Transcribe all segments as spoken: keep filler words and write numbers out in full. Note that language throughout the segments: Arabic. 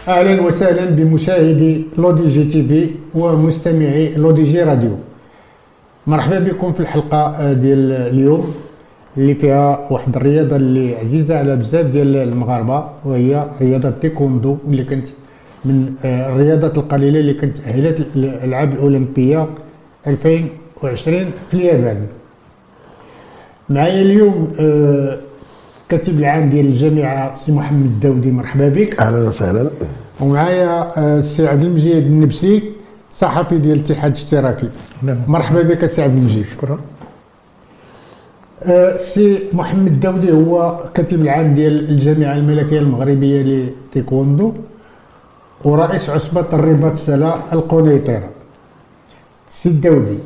اهلا وسهلا بمشاهدي لودي جي تي في ومستمعي لودي جي راديو. مرحبا بكم في الحلقه ديال اليوم اللي فيها واحد الرياضه اللي عزيزه على بزاف ديال المغاربه، وهي رياضه التايكوندو، اللي كانت من الرياضات القليله اللي كانت تاهلت الالعاب الاولمبيه ألفين وعشرين في اليابان. معايا اليوم كاتب العام ديال الجامعه سي محمد الداودي، مرحبا بك. اهلا وسهلا. ومعايا السي عبد المجيد النبسي، صحفي ديال الاتحاد الاشتراكي. مرحبا بك سي عبد المجيد. شكرا. السي محمد الداودي هو كاتب العام ديال الجامعه الملكيه المغربيه لتايكوندو ورئيس عصبه الرباط السله القنيطره. السي الداودي،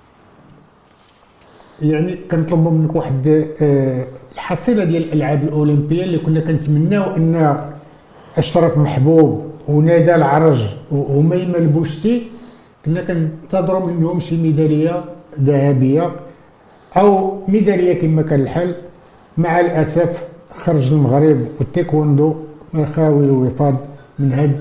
يعني كنطلبوا منك واحد الحصيله ديال الالعاب الاولمبيه اللي كنا كنتمناو ان اشرف محبوب ونادى العرج وميمه البوشتي كنا كننتظروا منهم شي ميداليه ذهبيه او ميداليه كما كان الحال. مع الاسف خرج المغرب والتايكوندو خاوي الوفاض من هاد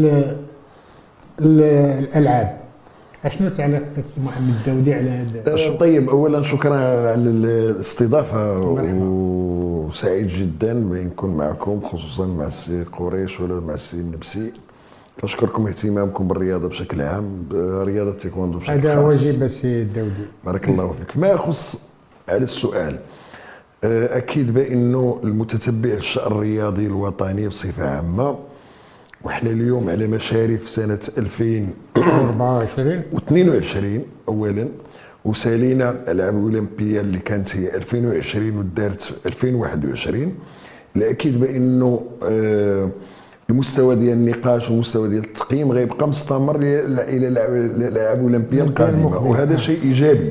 الالعاب. اشنو تعليقك السي محمد الداودي على هذا؟ طيب، اولا شكرا على الاستضافه وسعيد جدا بان نكون معكم، خصوصا مع السي قريش ولا مع السي النبسي. كنشكركم اهتمامكم بالرياضه بشكل عام، رياضه التايكوندو بشكل خاص. هذا واجب السي الداودي. بارك الله فيك. ما يخص على السؤال، اكيد بانه المتتبع الشأن الرياضي الوطني بصفه عامه، وحنا اليوم على مشارف سنه ألفين وأربعة وعشرين واثنين وعشرين اولا، وسالينا الالعاب الاولمبيه اللي كانت هي ألفين وعشرين ودارت في ألفين وواحد وعشرين. الاكيد بانه آه المستوى ديال النقاش والمستوى ديال التقييم غيبقى مستمر الى الالعاب الاولمبيه القادمه، وهذا شيء ايجابي.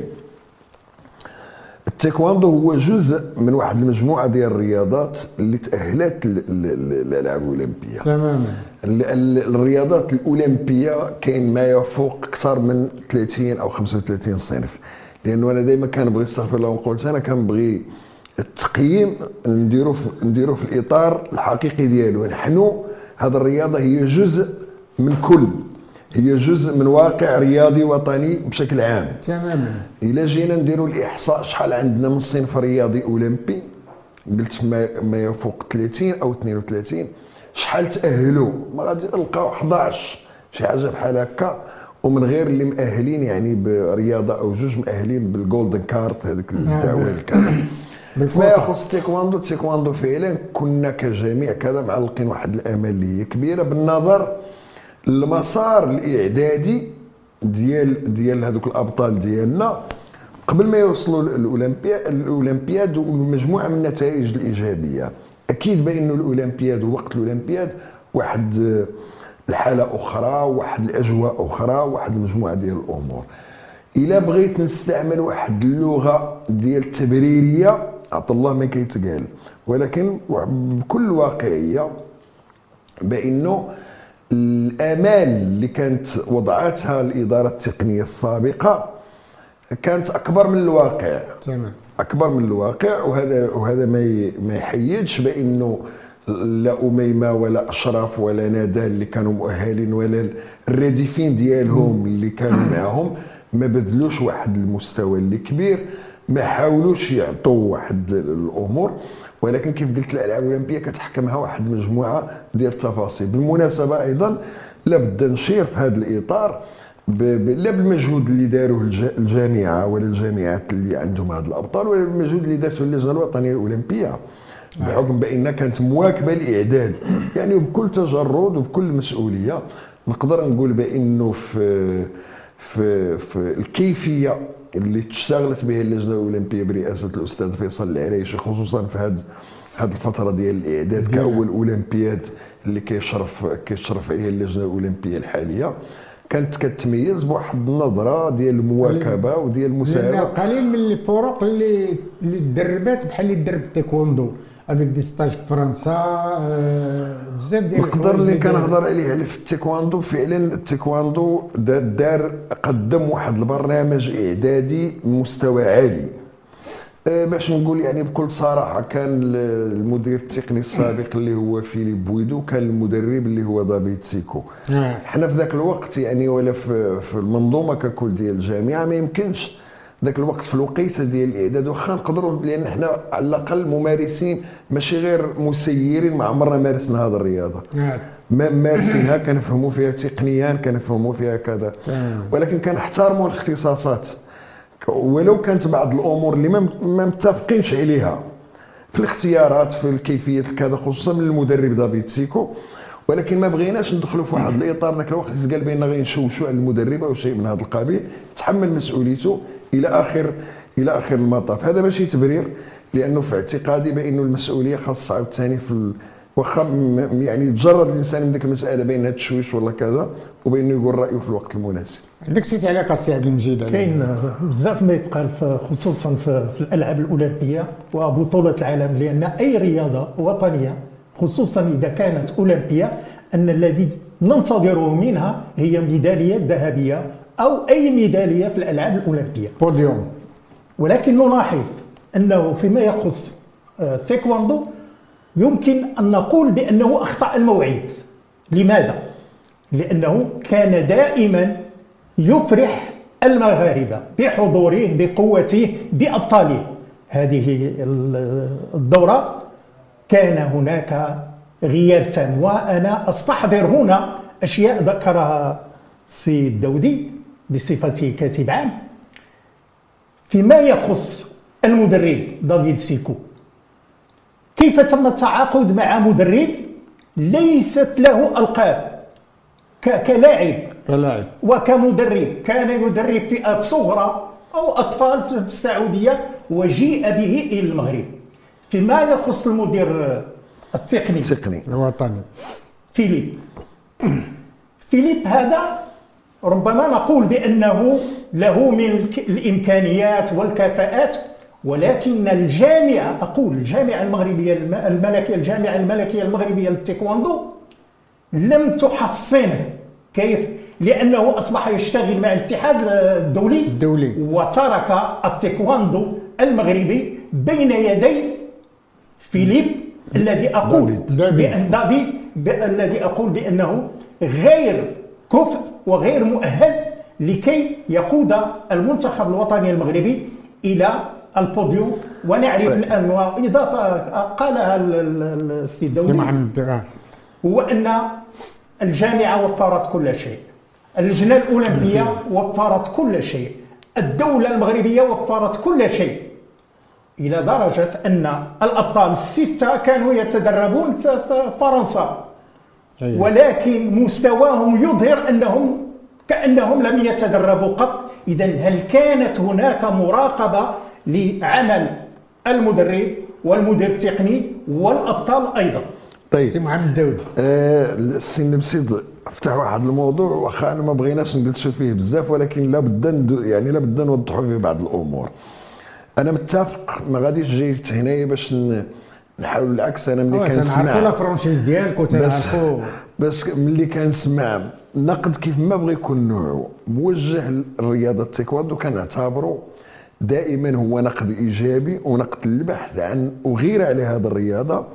التايكوندو هو جزء من واحد المجموعه ديال الرياضات اللي تاهلت للالعاب الاولمبيه. تماما. الرياضات الاولمبيه كاين ما يفوق اكثر من ثلاثين او خمسة وثلاثين صنف، لانه انا دائما كنبغي، استغفر الله ونقول، انا كنبغي التقييم نديرو في نديرو في الاطار الحقيقي ديالو. نحن هذه الرياضه هي جزء من كل، هي جزء من واقع رياضي وطني بشكل عام. تماما. الا جينا نديروا الاحصاء شحال عندنا من صنف رياضي اولمبي، قلت ما, ما يفوق ثلاثين او اثنين وثلاثين، شحال تاهلوا؟ ما غادي نلقاو أحد عشر شي حاجه بحال هكا، ومن غير اللي مؤهلين يعني برياضه او جوج مؤهلين بالجولدن كارت، هذيك الدعوه الكامل. ما يخص التايكوندو، التايكوندو فعلا كنا كجميع كذا معلقين واحد الامال اللي هي كبيره بالنظر المسار الاعدادي ديال ديال هذوك الابطال ديالنا قبل ما يوصلوا للاولمبياد الاولمبياد ومجموعه من النتائج الايجابيه. اكيد بانه الاولمبياد ووقت الاولمبياد واحد الحاله اخرى، واحد الاجواء اخرى، واحد المجموعه ديال الامور. الا بغيت نستعمل واحد اللغه ديال التبريريه، عطى الله ما كيتقال، ولكن بكل واقعيه بانه الامال اللي كانت وضعتها الاداره التقنيه السابقه كانت اكبر من الواقع. تمام. اكبر من الواقع، وهذا وهذا ما ما يحيدش بانه لا اميمه ولا اشرف ولا ندى اللي كانوا مؤهلين ولا الرديفين ديالهم اللي كانوا معهم ما بدلوش واحد المستوى اللي كبير، ما حاولوش يعطوا واحد الامور. ولكن كيف قلت الالعاب الاولمبيه كتحكمها واحد المجموعه ديال التفاصيل. بالمناسبه ايضا لابد نشير في هذا الاطار لا بالمجهود اللي داروه الجامعه ولا الجامعات اللي عندهم هذا الابطال، ولا بالمجهود اللي دارته اللجنه الوطنيه الاولمبيه، بحكم بانها كانت مواكبه الاعداد يعني، وبكل تجرد وبكل مسؤوليه. نقدر نقول بانه في في في الكيفيه اللي اشتغلت بها اللجنه الاولمبيه برئاسه الاستاذ فيصل العريشي، خصوصا في هذه هذه الفتره ديال الاعداد كاول اولمبياد اللي كيشرف كيشرف عليها اللجنه الاولمبيه الحاليه، كانت كتميز بواحد النظره ديال المواكبه وديال المساهمه. قليل من الفرق اللي اللي تدربات بحال اللي درب التايكوندو افيك دي ستاج في فرنسا، بزاف ديال نقدر اللي كنهضر عليه على في التايكوندو. فعلا التايكوندو دار قدم واحد البرنامج اعدادي مستوى عالي. أه باش نقول يعني بكل صراحه، كان المدير التقني السابق اللي هو فيليب بويدو، كان المدرب اللي هو دافيد سيكو. آه. حنا في ذاك الوقت يعني ولا في, في المنظومه ككل ديال الجامعه ما يمكنش ذاك الوقت في الوقيته ديال الاعداد واخا نقدروا، لان حنا على الاقل ممارسين ماشي غير مسيرين، ما عمرنا مارسنا هذه الرياضه. آه. ما مارسينها كنفهموا فيها تقنيا، كنفهموا فيها كذا، ولكن كنحترموا الاختصاصات ولو كانت بعض الامور اللي ما متفقينش عليها في الاختيارات في كيفيه كذا، خصوصا من المدرب دافيد سيكو. ولكن ما بغيناش ندخلوا في واحد الاطار ذاك الوقت قال بان غينشوشوا على المدرب او شيء من هذا القبيل، تحمل مسؤوليته الى اخر الى اخر المطاف. هذا ماشي تبرير، لانه في اعتقادي بانه المسؤوليه خاصه عاوتاني في واخا يعني يتجرد الانسان من ديك المساله بين هذا التشويش ولا كذا، وبانه يقول رايه في الوقت المناسب. عندك شي تعليق السي عبد المجيد؟ كاين بزاف ما يتقال خصوصا في, في الالعاب الاولمبيه وبطوله العالم، لان اي رياضه وطنيه خصوصا اذا كانت اولمبيه ان الذي ننتظره منها هي ميداليه ذهبيه او اي ميداليه في الالعاب الاولمبيه، بوديوم. ولكن نلاحظ انه فيما يخص تايكواندو يمكن ان نقول بانه اخطا الموعد. لماذا؟ لانه كان دائما يفرح المغاربه بحضوره بقوته بابطاله. هذه الدوره كان هناك غياب تام، وانا استحضر هنا اشياء ذكرها السي الدودي بصفته كاتب عام. فيما يخص المدرب دافيد سيكو، كيف تم التعاقد مع مدرب ليست له القاب كلاعب كلاعب وكمدرب؟ كان يدرب فئات صغرى او اطفال في السعوديه وجيء به الى المغرب. فيما يخص المدير التقني التقني الوطني فيليب فيليب هذا ربما نقول بانه له من الامكانيات والكفاءات، ولكن الجامعه اقول الجامعه المغربيه الملكيه الجامعه الملكيه المغربيه للتايكواندو لم تحصنه. كيف؟ لانه اصبح يشتغل مع الاتحاد الدولي الدولي وترك التايكواندو المغربي بين يدي فيليب الذي اقول بأن دافيد الذي اقول بانه غير كفء وغير مؤهل لكي يقود المنتخب الوطني المغربي الى البوديوم. ونعرف الان واضافه قالها السي الدولي هو ان الجامعه وفرت كل شيء، اللجنه الاولمبيه وفرت كل شيء، الدوله المغربيه وفرت كل شيء، الى درجه ان الابطال السته كانوا يتدربون في فرنسا، ولكن مستواهم يظهر انهم كانهم لم يتدربوا قط. اذا هل كانت هناك مراقبه لعمل المدرب والمدير التقني والابطال ايضا؟ طيب سي محمد الداودي، آه السي نبسيد فتح واحد الموضوع واخا انا ما بغيناش نجلسوا فيه بزاف، ولكن لابد يعني لابد نوضحوا فيه بعض الامور. انا متفق، ما غاديش جيت هنايا باش نحاول العكس. انا ملي كنسمع تنعرفوا لا فرونشيز ديالك وتنعرفوا بس ملي كنسمع نقد كيف ما بغى يكون نوعه موجه للرياضه التايكواندو كنعتبره دائما هو نقد ايجابي ونقد للبحث عن وغير على هذه الرياضه،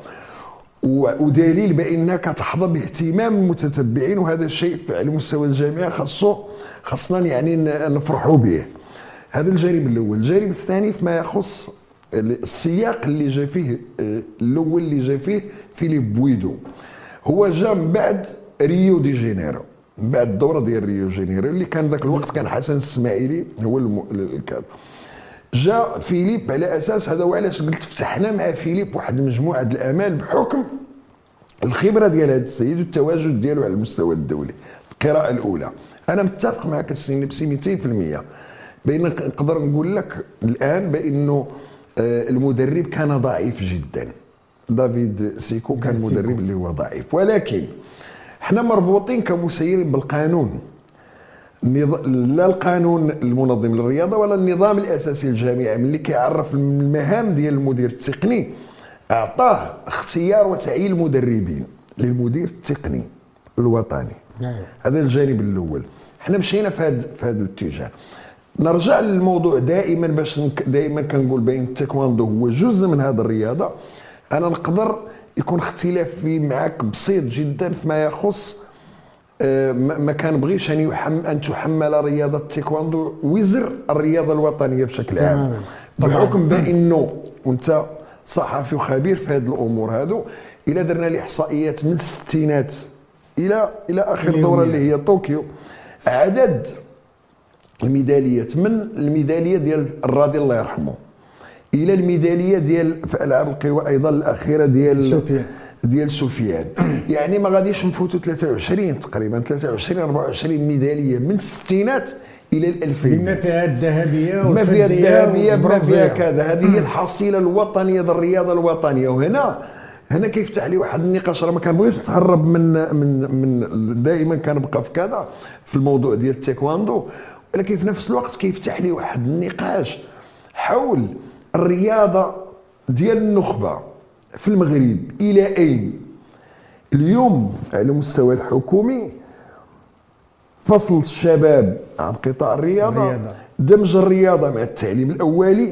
ودليل بانها كتحظى باهتمام المتتبعين، وهذا الشيء على مستوى الجامعه خاصو خاصنا يعني نفرحوا به. هذا الجانب الاول. الجانب الثاني فيما يخص السياق اللي جا فيه الاول اللي جا فيه فيليب بويدو، هو جا من بعد ريو دي جينيرو، من بعد الدوره ديال ريو دي جينيرو اللي كان ذاك الوقت كان حسن الاسماعيلي هو الكاد. جا فيليب على اساس هذا، وعلاش قلت فتحنا مع فيليب واحد مجموعه الامال بحكم الخبره ديال هذا السيد والتواجد ديالو على المستوى الدولي. القراءه الاولى انا متفق معك السي نبسي مئتين في المئة، بين نقدر نقول لك الان بانه المدرب كان ضعيف جدا. دافيد سيكو كان مدرب اللي هو ضعيف، ولكن احنا مربوطين كمسيرين بالقانون، لا القانون المنظم للرياضه ولا النظام الاساسي للجامعه. ملي كيعرف المهام ديال المدير التقني اعطاه اختيار وتعيين المدربين للمدير التقني الوطني. هذا الجانب الاول. احنا مشينا في هذا في هذا الاتجاه. نرجع للموضوع دائما باش دائما كنقول بين التايكواندو هو جزء من هذه الرياضه. انا نقدر يكون اختلافي معك بسيط جدا فيما يخص أه ما كنبغيش ان يحمل ان تحمل رياضه التايكواندو وزر الرياضه الوطنيه بشكل عام، بحكم بانه وانت صحفي وخبير في هذه الامور هذو. الى درنا الاحصائيات من الستينات الى الى اخر دوره اللي هي طوكيو، عدد الميداليات من الميداليه ديال الراضي الله يرحمه الى الميداليه ديال في العاب القوى ايضا الاخيره ديال سفيان ديال سفيان، يعني ما غاديش نفوتوا ثلاثة وعشرين تقريبا ثلاثة وعشرين أربعة وعشرين ميداليه من الستينات الى الألفين، بما فيها الذهبيه ما فيها الذهبيه بما فيها كذا. هذه هي الحصيله الوطنيه ديال الرياضه الوطنيه. وهنا هنا كيفتح لي واحد النقاش، راه ما كنبغيش نتهرب من من من دائما كنبقى في كذا في الموضوع ديال التايكواندو، ولكن في نفس الوقت كيفتح لي واحد النقاش حول الرياضه ديال النخبه في المغرب الى اين. اليوم على المستوى الحكومي فصل الشباب عن قطاع الرياضه, الرياضة. دمج الرياضه مع التعليم الاولي،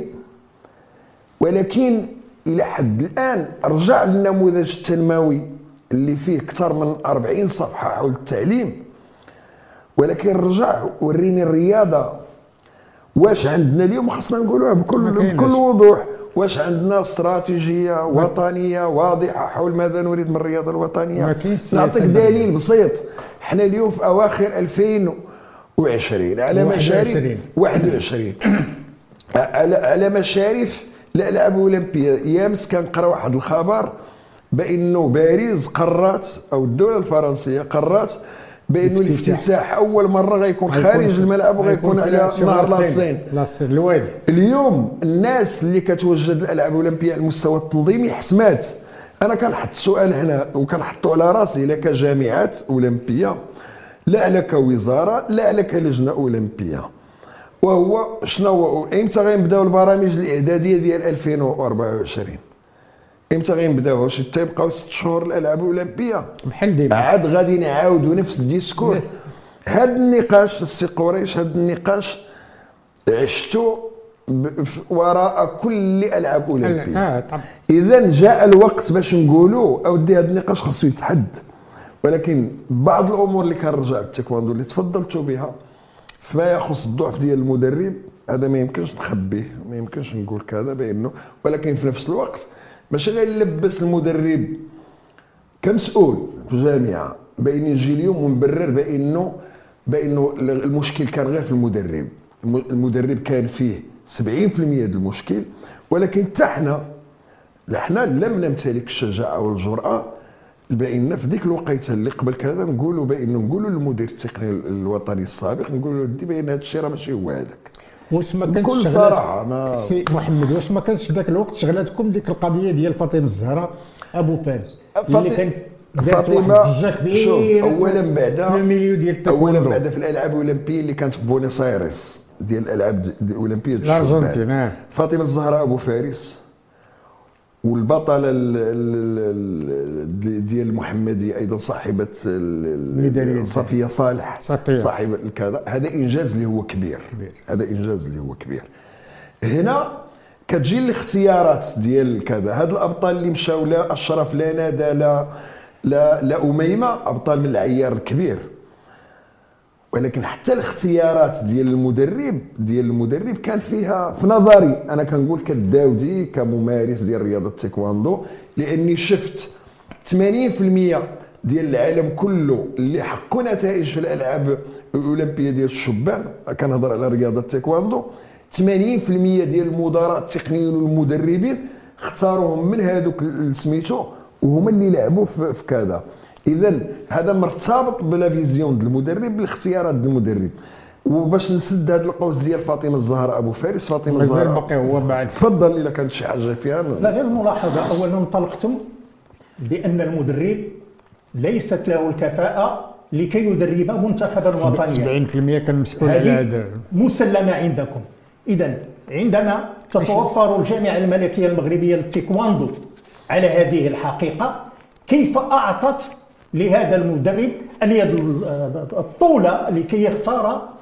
ولكن الى حد الان رجع للنموذج التنموي اللي فيه اكثر من أربعين صفحه حول التعليم، ولكن رجع وريني الرياضه واش عندنا اليوم. خصنا نقولوها بكل بكل وضوح، واش عندنا استراتيجيه وطنيه واضحه حول ماذا نريد من الرياضه الوطنيه؟ نعطيك دليل بسيط. حنا اليوم في اواخر ألفين وعشرين على مشارف واحد وعشرين على على مشارف الالعاب الاولمبيه. امس كنقرا واحد الخبر بانه باريس قررت او الدوله الفرنسيه قررت بانه الافتتاح اول مره غيكون خارج الملعب وغيكون على نهر لاصين لاصين الوادي. اليوم الناس اللي كتوجد الالعاب الاولمبيه على المستوى التنظيمي حسمات. انا كنحط سؤال هنا وكنحطو على راسي، لا كجامعات اولمبيه، لا لا كوزاره، لا لا كلجنه اولمبيه، وهو شنو امتى غيبداو البرامج الاعداديه ديال ألفين وأربعة وعشرين؟ امتى غنبداو؟ واش تيبقاو ست شهور الالعاب الاولمبيه بحال ديما عاد غادي نعاودوا نفس الديسكور؟ هذا النقاش السي قريش، هذا النقاش عشتو وراء كل العاب اولمبيه. آه اذا جاء الوقت باش نقولوا اودي هذا النقاش خصو يتحد. ولكن بعض الامور اللي كنرجع للتايكواندو اللي تفضلتوا بها فيما يخص الضعف ديال المدرب، هذا ما يمكنش نخبيه، ما يمكنش نقول كذا بانه، ولكن في نفس الوقت ماشي غير نلبس المدرب كمسؤول في جامعه بان يجي اليوم ونبرر بانه بانه المشكل كان غير في المدرب. المدرب كان فيه سبعين بالمئة ديال المشكل، ولكن حتى حنا حنا لم نمتلك الشجاعه والجرأه بان في ديك الوقيته اللي قبل كذا نقولوا بانه نقولوا للمدير التقني الوطني السابق، نقولوا له بان هذا الشيء راه ماشي هو هذاك. واش ما كانش بكل صراحه انا سي محمد، واش ما كانش في ذاك الوقت شغلاتكم ديك القضيه ديال فاطمه الزهراء ابو فارس اللي كان فاطمه؟ شوف، اولا بعد الميليو ديال التايكواندو، اولا بعد في الالعاب الاولمبيه اللي كانت في بونيس ايرس ديال الالعاب الاولمبيه ديال الارجنتين، فاطمه الزهراء ابو فارس والبطله ديال المحمديه ايضا صاحبه صفيه صالح صاحبه الكذا، هذا انجاز اللي هو كبير. كبير هذا انجاز اللي هو كبير. هنا كتجي الاختيارات ديال كذا، هاد الابطال اللي مشاو لا اشرف لا ندى لا لا لا اميمه ابطال من العيار الكبير، ولكن حتى الاختيارات ديال المدرب ديال المدرب كان فيها في نظري انا كنقول كالداودي كممارس ديال رياضه التايكواندو، لاني شفت ثمانين بالمئة ديال العالم كله اللي حققوا نتائج في الالعاب الاولمبيه ديال الشبان، كنهضر على رياضه التايكواندو، ثمانين بالمئة ديال المدراء التقنيين والمدربين اختاروهم من هذوك سميتو وهما اللي لعبوا في كذا. اذا هذا مرتبط بلا فيزيون ديال المدرب بالاختيارات ديال المدرب. وباش نسد هذا القوس ديال فاطمه الزهراء ابو فارس، فاطمه الزهراء باقي هو بعد تفضل الا كانت شي حاجه فيها. لا غير ملاحظه، اولا انطلقتم بان المدرب ليست له الكفاءه لكي يدرب منتخبا وطنيا، سبعين بالمئة كان مسؤول على هذا مسلمه عندكم. اذا عندما تتوفر الجامعه الملكيه المغربيه للتايكواندو على هذه الحقيقه، كيف اعطت لهذا المدرب اليد الطولة لكي يختار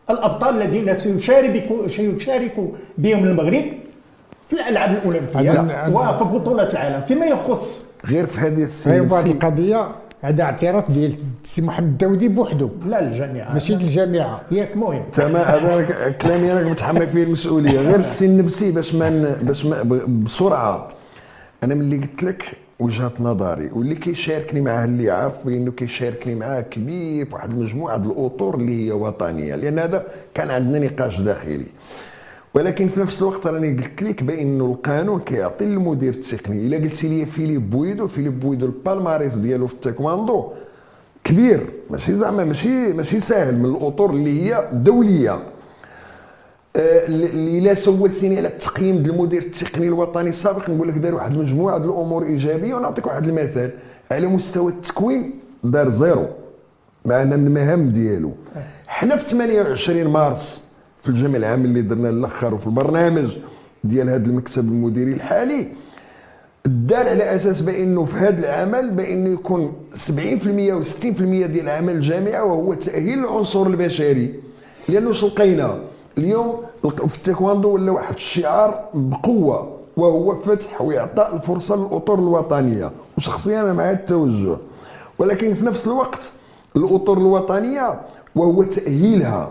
الابطال الذين سيشارك سيشارك بهم المغرب في الالعاب الاولمبيه وفي بطولات العالم. فيما يخص غير في هذه هي السنه واحد القضيه، هذا اعتراف ديال السي محمد الداودي بوحده لا الجامعه ماشي الجامعه ياك المهم تمام. هذا كلامي انا متحمل فيه المسؤوليه. غير السي النبسي باش ما باش ما بسرعه، انا ملي قلت لك وجهه نظري واللي كيشاركني معاه اللي عارف بانه كيشاركني معاه كبير في واحد المجموعه د الاطر اللي هي وطنيه، لان هذا كان عندنا نقاش داخلي. ولكن في نفس الوقت راني قلت لك بانه القانون كيعطي للمدير التقني. الا قلتي لي فيليب بويدو فيليب بويدو البالماريس ديالو في التايكواندو كبير، ماشي زعما ماشي ماشي ساهل، من الاطر اللي هي دوليه. اللي لا سولتيني على التقييم ديال المدير التقني الوطني السابق نقول لك دار واحد المجموعه ديال الامور ايجابيه. ونعطيك واحد المثال على مستوى التكوين، دار زيرو معنا من المهام ديالو. حنا في ثمانية وعشرين مارس في الجمع العام اللي درنا الاخر وفي البرنامج ديال هذا المكتب المديري الحالي دار على اساس بانه في هذا العمل بانه يكون سبعين بالمئة و ستين بالمئة ديال عمل الجامعه وهو تاهيل العنصر البشري. لانه واش لقينا اليوم في التايكواندو ولا واحد الشعار بقوه، وهو فتح واعطاء الفرصه للاطر الوطنيه، وشخصيا انا مع هذا التوجه. ولكن في نفس الوقت الاطر الوطنيه وهو تاهيلها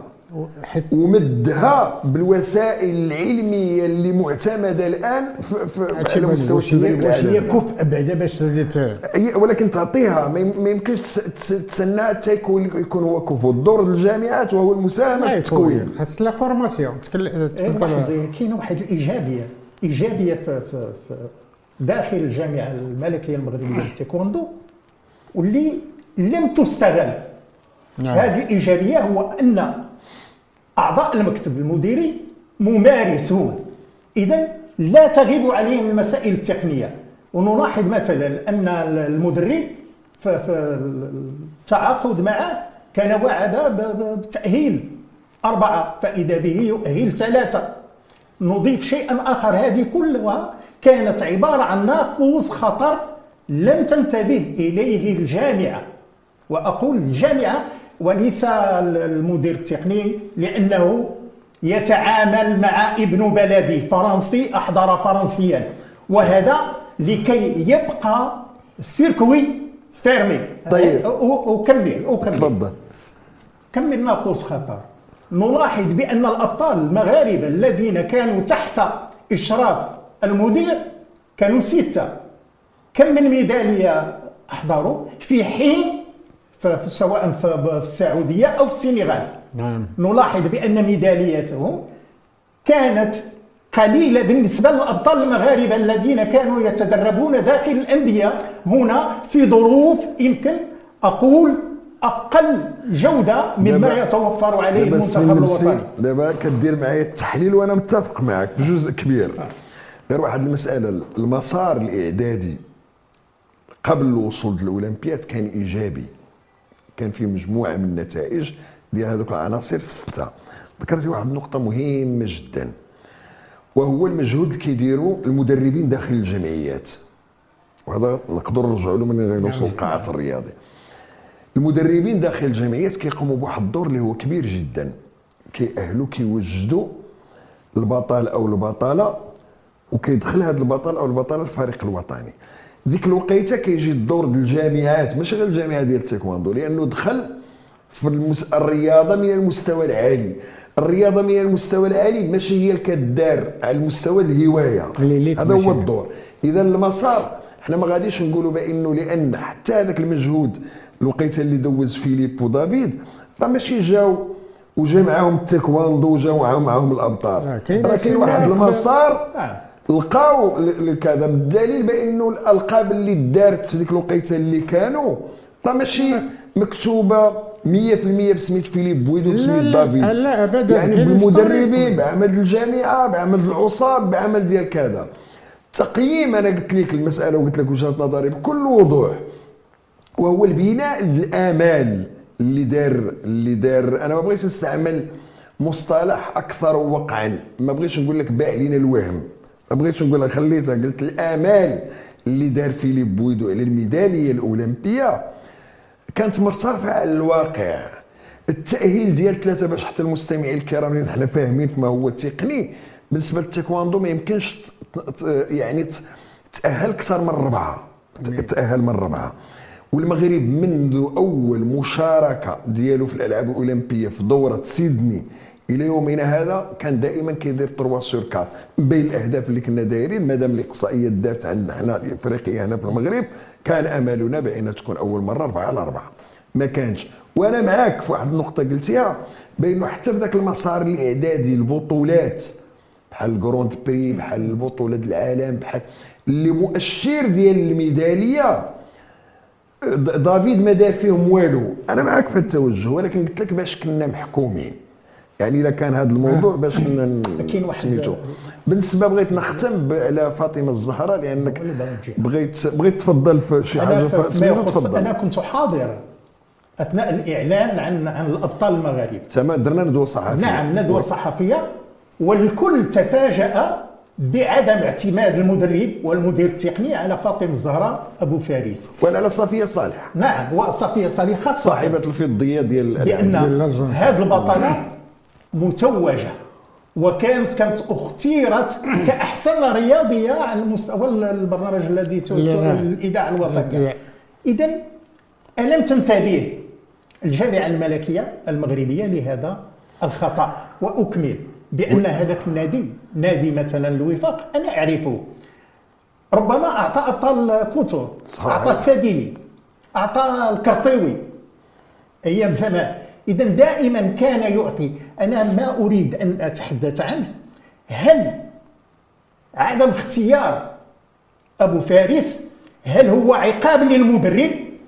ومدها بالوسائل العلميه اللي معتمده الان في, في على مستوى التدريب العالمي. هي كفء بعدا باش ولكن تعطيها ما يمكنش تسنى حتى يكون هو كفء. الدور الجامعات وهو المساهمه في التكوين، خاص لا فورماسيون. كاينه واحد الايجابيه ايجابيه في, في, في داخل الجامعه الملكيه المغربيه للتايكواندو واللي لم تستغل. هذه الايجابيه هو ان أعضاء المكتب المديري ممارسون، إذن لا تغيب عليهم المسائل التقنية. ونلاحظ مثلا أن المدرب في التعاقد معه كان وعد بتأهيل أربعة فإذا به يؤهل ثلاثة. نضيف شيئا آخر، هذه كلها كانت عبارة عن ناقوس خطر لم تنتبه إليه الجامعة، وأقول الجامعة وليس المدير التقني، لأنه يتعامل مع ابن بلدي فرنسي أحضر فرنسيا، وهذا لكي يبقى السيركوي فيرمي. طيب أكمل أكمل تفضل. كمل ناقوس خطر. نلاحظ بأن الأبطال المغاربة الذين كانوا تحت إشراف المدير كانوا ستة. كم من ميدالية أحضروا في حين سواء في السعودية أو في السنغال؟ نعم. نلاحظ بأن ميدالياتهم كانت قليلة بالنسبة للأبطال المغاربة الذين كانوا يتدربون داخل الأندية هنا في ظروف يمكن أقول أقل جودة مما يتوفر عليه المنتخب الوطني. دابا كدير معايا التحليل وأنا متفق معك في جزء كبير. غير واحد المسألة، المسار الإعدادي قبل الوصول للأولمبياد كان إيجابي، كان فيه مجموعه من النتائج ديال هذوك العناصر السته. ذكرتي واحد النقطه مهمه جدا، وهو المجهود اللي كيديروا المدربين داخل الجمعيات، وهذا نقدر نرجعوا له من نوصل القاعات الرياضيه. المدربين داخل الجمعيات كيقوموا بواحد الدور اللي هو كبير جدا، كيأهلوا كيوجدوا البطل او البطله، وكيدخل هذا البطل او البطله الفريق الوطني. ديك الوقيته كيجي الدور ديال الجامعات، ماشي غير الجامعه ديال التايكواندو، لانه دخل في المس... الرياضه من المستوى العالي. الرياضه من المستوى العالي ماشي هي اللي كدار على المستوى الهوايه، هذا هو الدور. اذا المسار حنا ما غاديش نقولوا بانه لان حتى هذاك المجهود الوقيته اللي دوز فيليب ودافيد راه ماشي جاو وجا معاهم التايكواندو وجاو معاهم معاهم الابطال، راه كاين واحد المسار لقاو كذا، بالدليل بانه الالقاب اللي دارت ديك الوقيته اللي كانوا راه ماشي مكتوبه مية بالمية بسميت فيليب بويدو بسميت دافيد، لا ابدا، يعني بالمدربين بعمل الجامعه بعمل العصاب بعمل ديال كذا. تقييم انا قلت لك المساله وقلت لك وجهه نظري بكل وضوح، وهو البناء الامال اللي دار اللي دار انا ما بغيتش نستعمل مصطلح اكثر وقعا، ما بغيتش نقول لك باع لينا الوهم، ما بغيتش نقول لك خليتها، قلت الامال اللي دار فيليب بويدو على الميداليه الاولمبيه كانت مرتفعه على الواقع. التاهيل ديال ثلاثه باش حتى المستمعين الكرام اللي حنا فاهمين فيما هو تقني بالنسبه للتايكواندو ما يمكنش يعني تاهل اكثر من ربعه، تاهل من ربعه. والمغرب منذ اول مشاركه ديالو في الالعاب الاولمبيه في دوره سيدني الى يومنا هذا كان دائما كيدير ثلاثة سور أربعة. بين الاهداف اللي كنا دايرين مادام الاقصائيات دارت عندنا حنا الافريقيه هنا في المغرب كان املنا بان تكون اول مره أربعة على أربعة، ما كانش. وانا معاك في واحد النقطه قلتيها بانه حتى في ذاك المسار الاعدادي البطولات بحال الجروند بري بحال البطوله العالم بحال اللي مؤشر ديال الميداليه دافيد ما دار فيهم والو. انا معاك في التوجه، ولكن قلت لك باش كنا محكومين يعني الا كان هذا الموضوع باش كاين واحد سميتو. بالنسبه بغيت نختم على فاطمه الزهراء لانك بغيت بغيت تفضل في شي حاجه. تفضل. انا كنت حاضر اثناء الاعلان عن عن الابطال المغاربه. تمام، درنا ندوه صحفيه. نعم، ندوه صحفيه، والكل تفاجأ بعدم اعتماد المدرب والمدير التقني على فاطمه الزهراء ابو فارس ولا على صفيه صالح. نعم، وصفيه صالح خاصه صاحبه الفضيه ديال بان هذه البطله متوجه وكانت كانت اختيرت كاحسن رياضيه على مستوى البرنامج الذي الاذاعه الوطنيه. اذا الم تنتبه الجامعه الملكيه المغربيه لهذا الخطا؟ واكمل بان هذاك النادي نادي مثلا الوفاق انا اعرفه، ربما اعطى ابطال كوتور، اعطى التاديني، اعطى الكرطيوي ايام زمان. اذا دائما كان يعطي. انا ما اريد ان اتحدث عنه، هل عدم اختيار ابو فارس هل هو عقاب للمدرب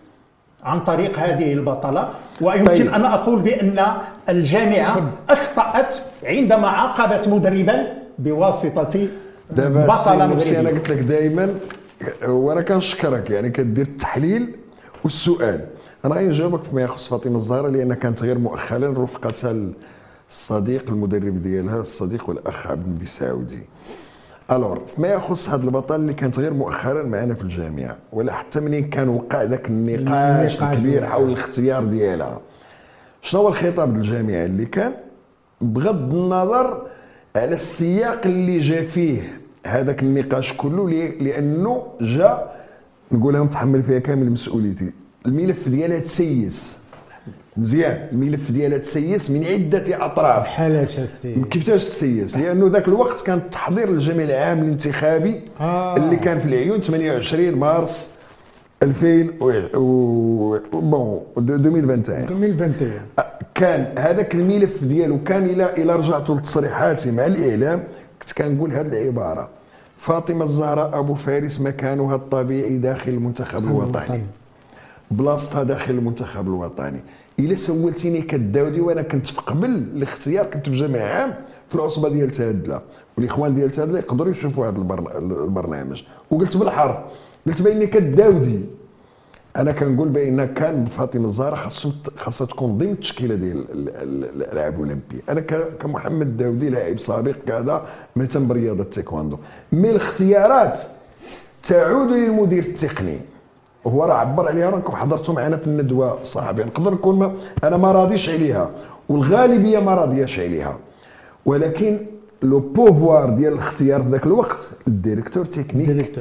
عن طريق هذه البطله؟ ويمكن طيب. ان اقول بان الجامعه اخطات عندما عاقبت مدربا بواسطه بطله مغربيه. انا قلت لك دائما وانا كنشكرك يعني كدير التحليل والسؤال. انا غنجاوبك فيما يخص فاطمه الزهراء لان كانت غير مؤخرا رفقتها الصديق المدرب ديالها الصديق والاخ عبد النبي سعودي. الور فيما يخص هذا البطل اللي كانت غير مؤخرا معنا في الجامعه ولا حتى منين كان وقع ذاك النقاش الكبير حول الاختيار ديالها، شنو هو الخطاب ديال الجامعه اللي كان بغض النظر على السياق اللي جا فيه هذاك النقاش كله لانه جا نقولها متحمل فيها كامل مسؤوليتي. الملف ديالها تسيس مزيان، الملف ديالها تسيس من عده اطراف. بحال اساسي كيفاش تسيس؟ لانه ذاك الوقت كان التحضير للجمع العام الانتخابي آه. اللي كان في العيون ثمانية وعشرين مارس ألفين و بون ألفين وواحد كان هذاك الملف ديالو كان الى الى رجعتوا لتصريحاتي مع الاعلام كنت كنقول هذه العباره: فاطمه الزهراء ابو فارس مكانها الطبيعي داخل المنتخب الوطني، بلاصتها داخل المنتخب الوطني. الا سولتيني كداودي وانا كنت في قبل الاختيار كنت في جامع عام في العصبه ديال تادله، والاخوان ديال تادله يقدروا يشوفوا هذا البرنامج، وقلت بالحرف قلت باني كداودي انا كنقول بان كان فاطمه الزهراء خاصو خاصها تكون ضمن التشكيله ديال الالعاب الاولمبيه. انا كمحمد داودي لاعب سابق كذا مهتم برياضه التايكواندو، من الاختيارات تعود للمدير التقني وهو راه عبر عليها، راكم حضرتوا معنا في الندوه الصحفيه. نقدر نكون ما انا ما راضيش عليها والغالبيه ما راضياش عليها، ولكن لو بوفوار ديال الاختيار في ذاك الوقت الديريكتور تكنيك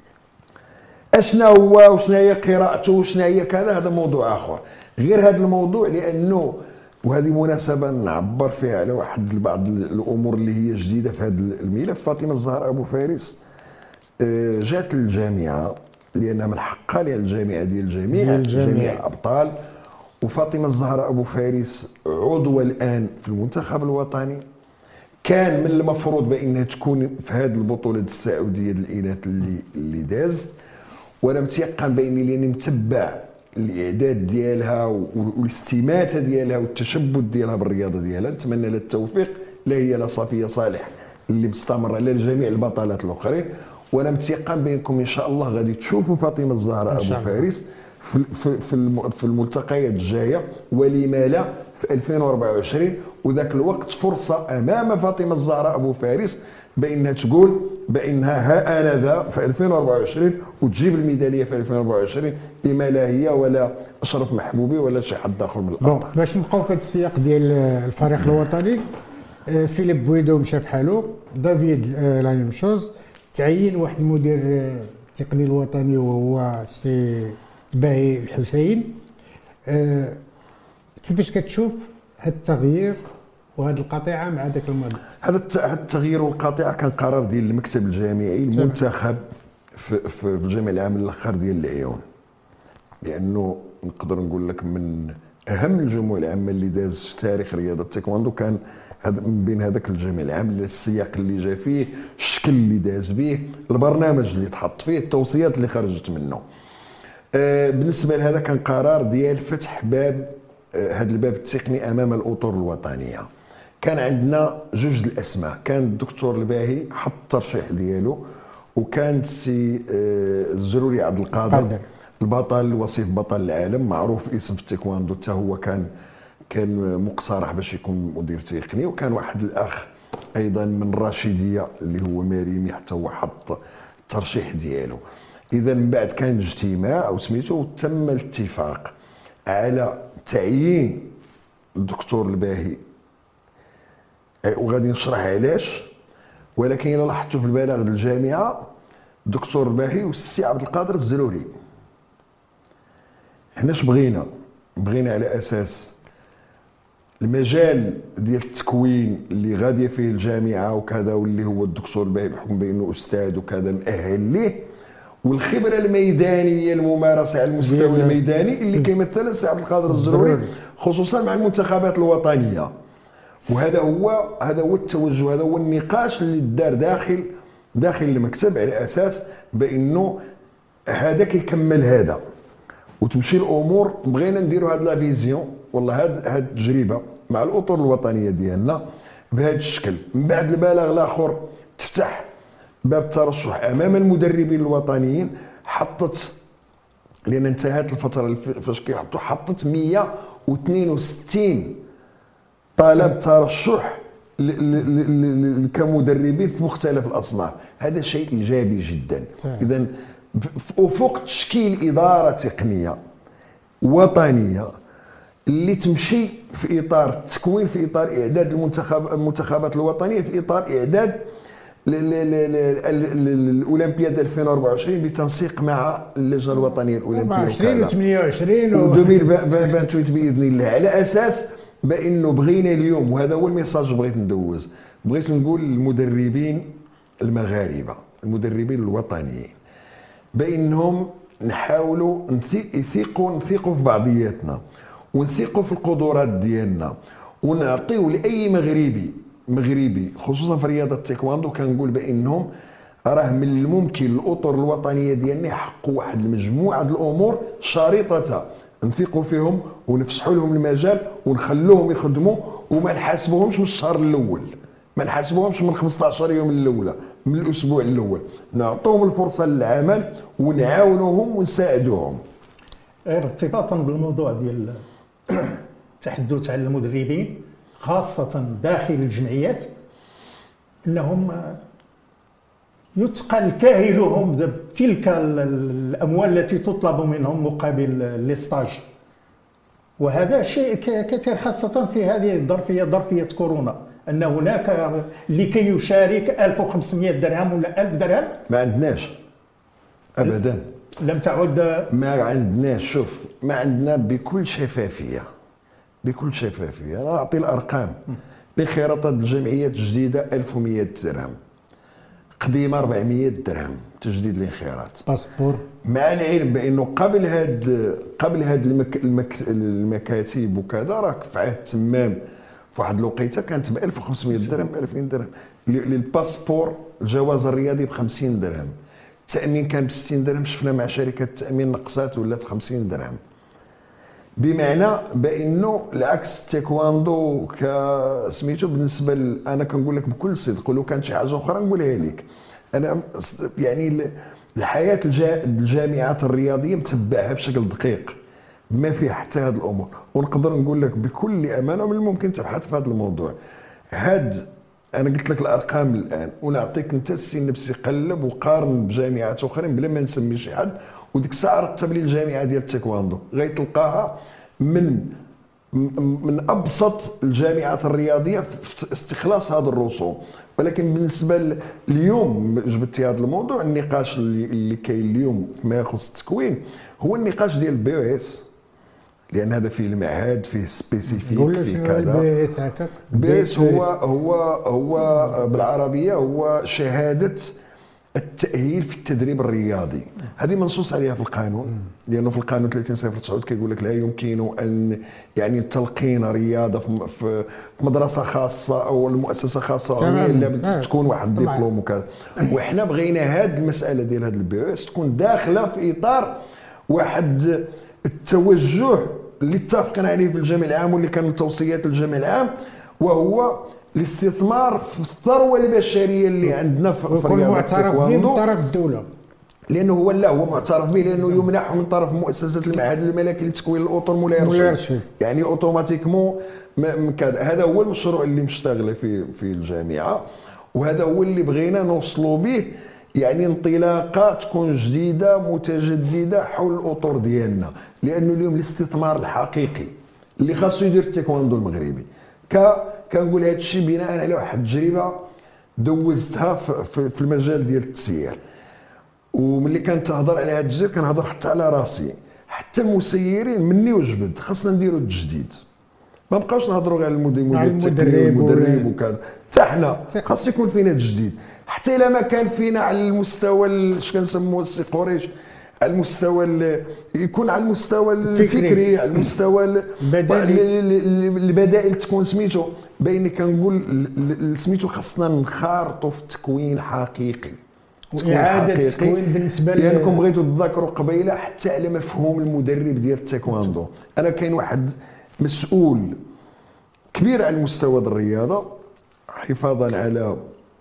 اشنا هو وشنا هي قراءته وشنا هي كذا هذا موضوع اخر. غير هذا الموضوع لانه وهذه مناسبه نعبر فيها على واحد بعض الامور اللي هي جديده في هذا الملف. فاطمه الزهراء ابو فارس جات للجامعه لانها من حقها لان الجامعه ديال الجميع جميع الابطال، وفاطمه الزهراء ابو فارس عضوه الان في المنتخب الوطني. كان من المفروض بانها تكون في هذه البطوله السعوديه الاناث اللي اللي دازت، وانا متيقن باني لاني متبع الاعداد ديالها والاستماته ديالها والتشبث ديالها بالرياضه ديالها. نتمنى لها التوفيق، لا هي لا صفيه صالح اللي مستمره لا لجميع البطلات الاخرين. وانا متيقن بانكم ان شاء الله غادي تشوفوا فاطمه الزهراء ابو فارس في في في الملتقيات الجايه، ولما لا في ألفين وأربعة وعشرين. وذاك الوقت فرصه امام فاطمه الزهراء ابو فارس بانها تقول بانها ها انا ذا في ألفين وأربعة وعشرين وتجيب الميداليه في ألفين وأربعة وعشرين، لما لا هي ولا اشرف محبوبي ولا شي حد اخر من الابطال. باش نبقاو في هذا السياق ديال الفريق الوطني، فيليب بويدو مشى بحالو، دافيد لا ميم شوز، تعين واحد المدير التقني الوطني وهو سي باهي الحسين. كيفاش كتشوف هذا التغيير وهذه القطيعه مع ذاك الماضي؟ هذا التغيير والقطيعه كان قرار ديال المكتب الجامعي المنتخب في, في الجامع العام الاخر ديال العيون، لانه نقدر نقول لك من اهم الجموع العامه اللي داز في تاريخ رياضه التايكواندو كان هذا من بين هذاك الجامع العام، السياق اللي جا فيه، الشكل اللي داز به، البرنامج اللي تحط فيه، التوصيات اللي خرجت منه. آه بالنسبه لهذا كان قرار ديال فتح باب آه هذا الباب التقني امام الاطر الوطنيه. كان عندنا جوج الاسماء، كان الدكتور الباهي حط الترشيح ديالو، وكان سي آه الزروري عبد القادر البطل وصيف بطل العالم معروف اسم في التايكواندو، حتى هو كان كان مقترح باش يكون مدير تقني، وكان واحد الاخ ايضا من الراشديه اللي هو مريمي حتى هو حط الترشيح ديالو. اذا من بعد كان اجتماع او سميتو وتم الاتفاق على تعيين الدكتور الباهي، وغادي نشرح علاش، ولكن الا لاحظتوا في البلاغ ديال الجامعه الدكتور الباهي والسي عبد القادر الزروري. حنا اش بغينا؟ بغينا على اساس المجال ديال التكوين اللي غاديه فيه الجامعه وكذا، واللي هو الدكتور الباهي بحكم بانه استاذ وكذا مؤهل ليه، والخبره الميدانيه الممارسه على المستوى الميداني اللي كيمثلها السي عبد القادر الزروري خصوصا مع المنتخبات الوطنيه. وهذا هو هذا هو التوجه، هذا هو النقاش اللي دار داخل داخل المكتب على اساس بانه هذا كيكمل هذا وتمشي الامور. بغينا نديروا هاد لا فيزيون، والله هاد هاد التجربه مع الاطر الوطنيه ديالنا بهذا الشكل. من بعد البلاغ الاخر تفتح باب الترشح امام المدربين الوطنيين، حطت لان انتهت الفتره فاش كيحطوا حطت مئة واثنين وستين طلب ترشح كمدربين في مختلف الاصناف. هذا شيء ايجابي جدا. اذا افق تشكيل اداره تقنيه وطنيه اللي تمشي في اطار التكوين، في اطار اعداد المنتخب المنتخبات الوطنيه، في اطار اعداد الاولمبياد ألفين وأربعة وعشرين بتنسيق مع اللجنه الوطنيه الاولمبيه أربعة وعشرين و ثمانية وعشرين و ألفين وثمانية وعشرين باذن الله، على اساس بانه بغينا اليوم، وهذا هو الميساج بغيت ندوز، بغيت نقول للمدربين المغاربه المدربين الوطنيين بانهم نحاولوا نثيقوا نثيقوا في بعضياتنا ونثيقوا في القدرات ديالنا، ونعطيو لاي مغربي مغربي خصوصا في رياضه التايكواندو كنقول بانهم راه من الممكن الاطر الوطنيه ديالنا يحققوا واحد المجموعه د الامور شريطه نثيقوا فيهم ونفسحوا لهم المجال ونخلوهم يخدموا، وما نحاسبوهمش من الشهر الاول، ما نحاسبوهمش من خمسطاش يوم الاولى من الاسبوع الاول، نعطوهم الفرصه للعمل ونعاونوهم ونساعدوهم. ارتباطا بالموضوع ديال التحدث على المدربين خاصه داخل الجمعيات، انهم يتقل كاهلهم بتلك الاموال التي تطلب منهم مقابل ليستاج، وهذا شيء كثير خاصه في هذه الظرفيه ظرفيه كورونا، ان هناك لكي يشارك ألف وخمسمئة درهم ولا ألف درهم ما عندناش ابدا، لم تعد ما عندناش. شوف ما عندنا بكل شفافيه بكل شفافيه، انا اعطي الارقام. لخيارات الجمعيات الجديده ألف ومئة درهم، قديمه أربعمئة درهم تجديد الانخراط باسبور، مع العلم بانه قبل هاد قبل هاد المك المك المكاتب وكذا راه في عهد تمام في واحد الوقيته كانت ب ألف وخمسمئة درهم ب ألفين درهم، للباسبور الجواز الرياضي ب خمسين درهم، التامين كان ب ستين درهم، شفنا مع شركه التامين نقصات ولات خمسين درهم، بمعنى بانه العكس التايكواندو كسميتو بالنسبه ل... انا كنقول لك بكل صدق، ولو كانت شي حاجه اخرى نقولها لك، انا يعني الحياه الجامعات الرياضيه متبعها بشكل دقيق ما فيه حتى هذه الامور، ونقدر نقول لك بكل امانه من الممكن تبحث في هذا الموضوع. هاد انا قلت لك الارقام الان ونعطيك انت السي النفسي قلب وقارن بجامعات اخرين بلا ما نسمي شي حد، وديك الساعه رتب لي الجامعه ديال التايكواندو غيتلقاها من من ابسط الجامعات الرياضيه في استخلاص هذا الرسوم. ولكن بالنسبه اليوم جبتي هذا الموضوع، النقاش اللي, اللي كاين اليوم فيما يخص التكوين هو النقاش ديال البي او اس، لان هذا فيه المعهد فيه سبيسيفيك فيه كذا. البي اس هكاك البي اس هو هو هو بالعربيه هو شهاده التأهيل في التدريب الرياضي. هذه منصوص عليها في القانون، لأنه في القانون ثلاثين صفر تسعة كيقول لك لا يمكن أن يعني تلقين رياضة في مدرسة خاصة أو المؤسسة خاصة إلا تكون واحد دبلوم وكذا. وإحنا بغينا هذه المسألة ديال هذا البي او اس تكون داخلة في إطار واحد التوجه اللي اتفقنا عليه في الجامع العام واللي كان من توصيات الجامع العام، وهو الاستثمار في الثروه البشريه اللي عندنا في رياضه التايكواندو من طرف الدوله، لانه هو لا هو معترف به، لانه يمنح من طرف مؤسسه المعهد الملكي لتكوين الاطر مولاي رشيد، يعني اوتوماتيكمون هذا هو المشروع اللي مشتغله في في الجامعه، وهذا هو اللي بغينا نوصلوا به، يعني انطلاقه تكون جديده متجدده حول الاطر ديالنا، لانه اليوم الاستثمار الحقيقي اللي خاصو يدير التايكواندو المغربي ك كنقول هذا الشيء بناء على واحد التجربه دوزتها في المجال ديال التسيير، وملي كنت تهضر على هذا التجربه كنهضر حتى على راسي، حتى المسيرين مني وجبد خاصنا نديروا التجديد، ما بقاوش نهضروا غير على المدرب والمدرب وكذا، حتى حنا خاص يكون فينا تجديد، حتى الا ما كان فينا على المستوى اش كنسموه السي قريش، على المستوى يكون على المستوى الفكري، على المستوى البدائل تكون سميتو بيني كنقول سميتو خاصنا نخارطوا في التكوين حقيقي، واعاده التكوين بالنسبه لانكم بغيتوا تذكروا قبيله حتى على مفهوم المدرب ديال التايكواندو. انا كاين واحد مسؤول كبير على المستوى ديال الرياضه حفاظا على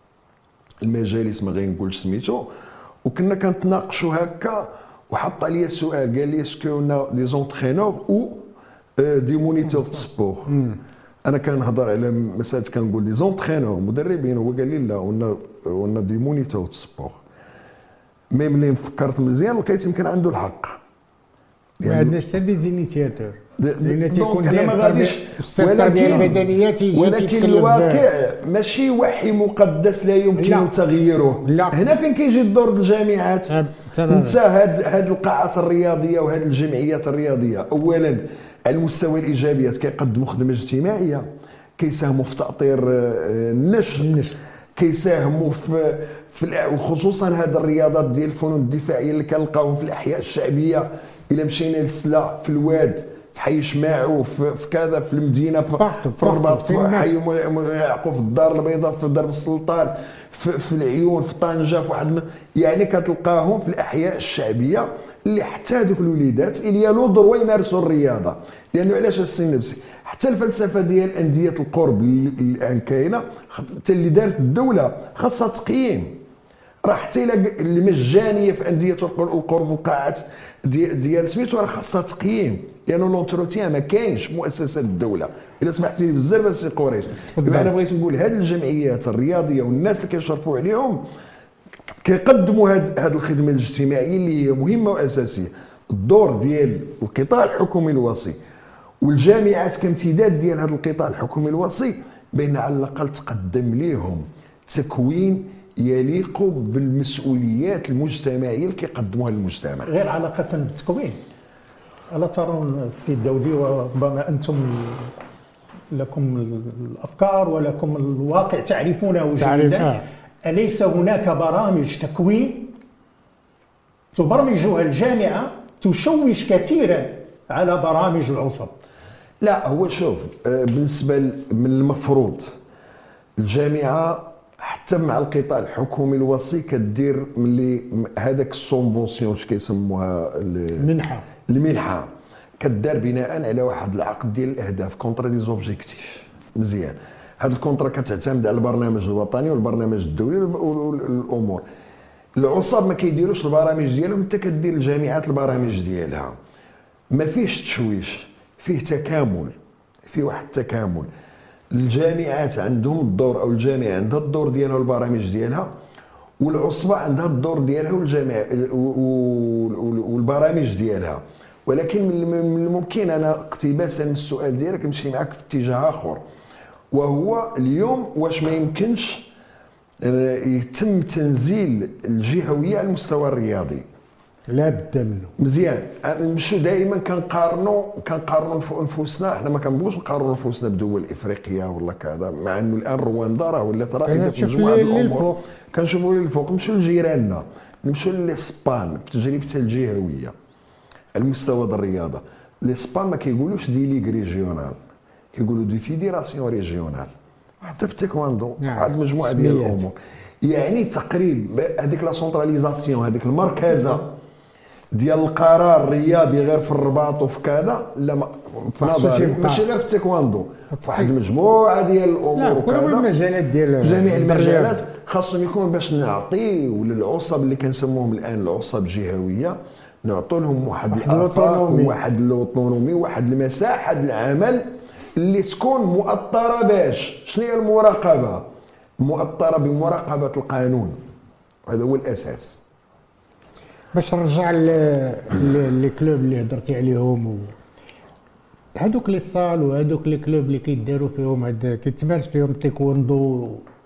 المجالس ما غنقولش سميتو، وكنا كنتناقشوا هكا وحط عليا سؤال قال لي اسكو اون دي زونترينور او دي مونيتور دو سبور. انا كنهضر على مساله كنقول دي زونترينور مدربين، هو قال لي لا اون اون دي مونيتور دو سبور. مي ملي فكرت مزيان لقيت يمكن عنده الحق، ما عندناش حتى دي زينيسياتور لان تيكون انا ما غاديش، ولكن البدنيات يجي ولكن الواقع ماشي وحي مقدس لا يمكن تغييره. هنا فين كيجي الدور الجامعات. انت هاد هاد القاعات الرياضيه وهاد الجمعيات الرياضيه اولا على المستوى الايجابيات كيقدموا خدمه اجتماعيه، كيساهموا في تاطير النشء، كيساهموا في في خصوصا هاد الرياضات ديال الفنون الدفاعيه اللي كنلقاوهم في الاحياء الشعبيه، الا مشينا للسلا في الواد في حي شماعو في, في كذا في المدينه في, في الرباط في حي يعقوب في الدار البيضاء في درب السلطان في, في العيون في طنجه في واحد، يعني كتلقاهم في الاحياء الشعبيه اللي حتى هذوك الوليدات اللي له ضروري يمارسوا الرياضه. لانه علاش السي النفسي حتى الفلسفه ديال انديه القرب اللي كاينه حتى اللي دارت الدوله خاصها تقييم، راه حتى اللي مجانيه في انديه القرب والقاعات ديال ديال سميتو راه خاصها تقييم، لانه لونتروتيان ما كاينش مؤسسات الدوله. الا سمحتي لي بزاف السي قريش، انا بغيت نقول هذه الجمعيات الرياضيه والناس اللي كيشرفوا عليهم كيقدموا هذه هذه الخدمه الاجتماعيه اللي هي مهمه واساسيه. الدور ديال القطاع الحكومي الوصي والجامعات كامتداد ديال هذا القطاع الحكومي الوصي بين على الاقل تقدم لهم تكوين يليق بالمسؤوليات المجتمعيه اللي كيقدموها للمجتمع. غير علاقه بالتكوين، الا ترون السي الدولي وربما انتم لكم الافكار ولكم الواقع تعرفونه جيدا، اليس هناك برامج تكوين تبرمجها الجامعه تشوش كثيرا على برامج العصب؟ لا هو شوف بالنسبه من المفروض الجامعه حتى مع القطاع الحكومي الوصي كدير ملي هذاك السومبونسيون اش كيسموها المنحه المنحه كدار بناء على واحد العقد ديال الاهداف كونترا دي زوبجيكتيف مزيان. هذا الكونترا كتعتمد على البرنامج الوطني والبرنامج الدولي والامور. العصاب ما كيديروش البرامج ديالهم، انت كدير الجامعات البرامج ديالها، ما فيهش تشويش، فيه تكامل، فيه واحد التكامل. الجامعات عندهم الدور، او الجامعه عندها الدور ديالها والبرامج ديالها، والعصبه عندها الدور ديالها والجامعه والبرامج ديالها. ولكن من الممكن انا اقتباسا من السؤال ديالك نمشي معك في اتجاه اخر، وهو اليوم واش ما يمكنش يتم تنزيل الجهويه على المستوى الرياضي؟ لا بد منه. مزيان. نمشيو دائما كنقارنوا كنقارنوا انفسنا، حنا ما كنبغوش نقارنوا انفسنا بدول افريقيا ولا كذا، مع انه الان رواندا راه ولات رائده في مجموعه الامور. كنشوفوا للفوق، نمشيو لجيراننا، نمشيو لاسبان في تجربتها الجهويه على المستوى ديال الرياضه. الاسبان ما كيقولوش دي ليغ ريجيونال، كيقولوا دي فيديراسيون ريجيونال. حتى في التايكواندو واحد المجموعه ديال الامور، يعني تقريبا هذيك لا سونتراليزاسيون، هذيك المركزه ديال القرار الرياضي غير في الرباط وفي كذا، لا في نظري ماشي غير في التايكواندو، في واحد المجموعه ديال الامور لا كل المجالات ديال جميع المجالات خاصهم يكون باش نعطيو للعصب اللي كنسموهم الان العصب الجهويه، نعطوا لهم واحد الافاق وواحد الاوتونومي وواحد المساحه ديال العمل اللي تكون مؤطره. باش شنو هي المراقبه؟ مؤطره بمراقبه القانون، هذا هو الاساس. باش نرجع لي كلوب اللي هضرتي عليهم و هذوك لي صال وهذوك لي كلوب اللي كيداروا فيهم هاد كيتمارس فيهم التايكوندو،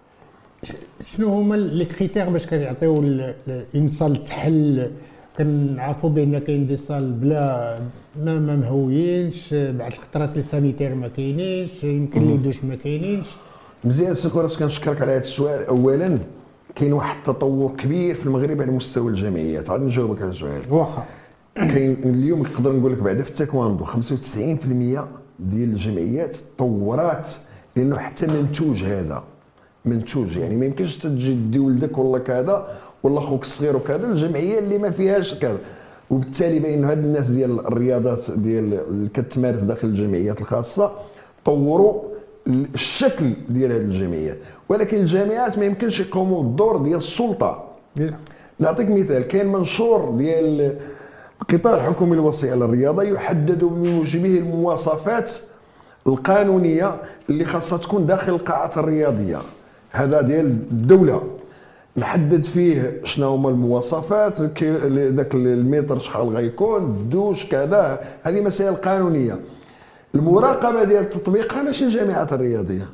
شنو هما لي كريتير باش كيعطيو اون صال تحل؟ كنعرفوا بان كاين دي صال بلا ما ما مهويينش، بعض الخطرات لي سانيتير ما كاينينش، يمكن لي دوش ما كاينينش. مزيان سي كوراس، كنشكرك على هذا السؤال. اولا كاين واحد التطور كبير في المغرب على مستوى الجمعيات، غادي نجاوبك على السؤال. واخا كاين اليوم نقدر نقول لك بعدا في التايكواندو خمسة وتسعين بالمئة ديال الجمعيات تطورات، لانه حتى منتوج هذا منتوج، يعني ما يمكنش تجي دي ولدك ولا كذا ولا خوك الصغير وكذا الجمعيه اللي ما فيهاش كذا. وبالتالي بان هاد الناس ديال الرياضات ديال اللي كتمارس داخل الجمعيات الخاصه طوروا الشكل ديال هذه الجمعيات، ولكن الجامعات ما يمكنش يقوموا بالدور ديال السلطه. نعطيك مثال، كاين منشور ديال القطاع الحكومي الوصي على الرياضه يحدد بموجبه المواصفات القانونيه اللي خاصها تكون داخل القاعات الرياضيه، هذا ديال الدوله، نحدد فيه شنو هما المواصفات، ذاك المتر شحال غيكون، الدوش كذا، هذه مسائل قانونيه. المراقبه ديال تطبيقها ماشي الجامعات الرياضيه،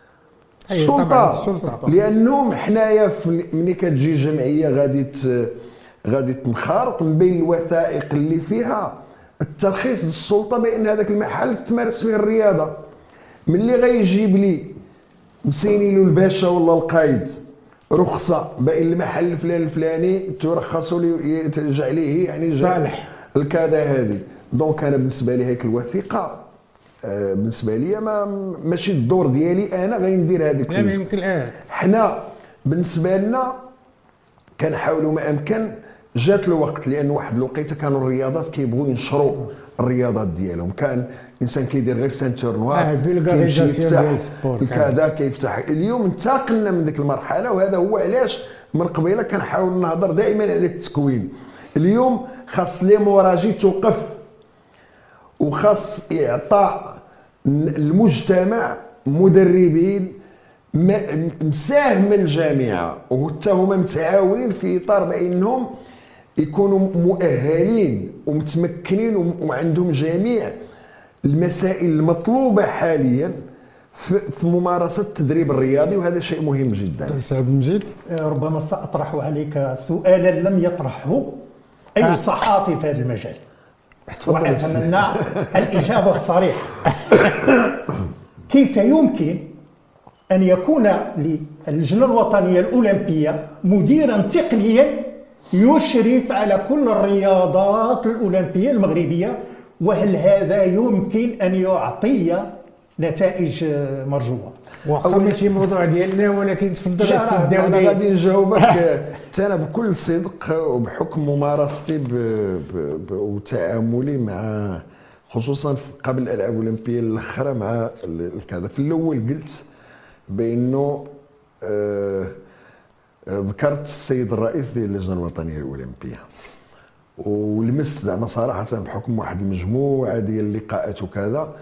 السلطه، لانهم حنايا ملي كتجي جمعيه غادي غادي تنخرط من بين الوثائق اللي فيها الترخيص السلطه بان هذاك المحل تمارس فيه الرياضه. ملي غيجيب لي مسيني له الباشا ولا القايد رخصه بان المحل الفلاني الفلاني ترخصوا لي ترجع ليه يعني صالح الكذا هذه، دونك انا بالنسبه لي هيك الوثيقه آه بالنسبه لي ما ماشي الدور ديالي انا غندير هذاك الشيء. لا يمكن الان حنا بالنسبه لنا كنحاولوا ما امكن. جات الوقت لان واحد الوقيته كانوا الرياضات كيبغوا ينشروا الرياضات ديالهم، كان انسان كيدير غير سانتور نوار آه كيمشي يفتح كذا كيفتح. اليوم انتقلنا من ديك المرحله، وهذا هو علاش من قبيله كنحاول نهضر دائما على التكوين. اليوم خاص ليموراجي توقف، وخاص اعطاء المجتمع مدربين مساهم الجامعه وحتى هما متعاونين في اطار بانهم يكونوا مؤهلين ومتمكنين وعندهم جميع المسائل المطلوبه حاليا في ممارسه التدريب الرياضي، وهذا شيء مهم جدا. سعد مجيد، ربما ساطرح عليك سؤالا لم يطرحه اي صحافي في هذا المجال، واتمنى الاجابه الصريحه. كيف يمكن ان يكون للجنه الوطنيه الاولمبيه مديرا تقنيا يشرف على كل الرياضات الأولمبية المغربية، وهل هذا يمكن أن يعطي نتائج مرجوة؟ واخا ماشي موضوع ديالنا، ولكن تفضل السي الدولي. انا غادي نجاوبك حتى انا بكل صدق وبحكم ممارستي وتعاملي مع خصوصا قبل الالعاب الاولمبيه الاخرى مع كذا. في الاول قلت بانه آه ذكرت السيد الرئيس ديال اللجنه الوطنيه الاولمبيه، ولمست زعما صراحه بحكم واحد المجموعه ديال اللقاءات وكذا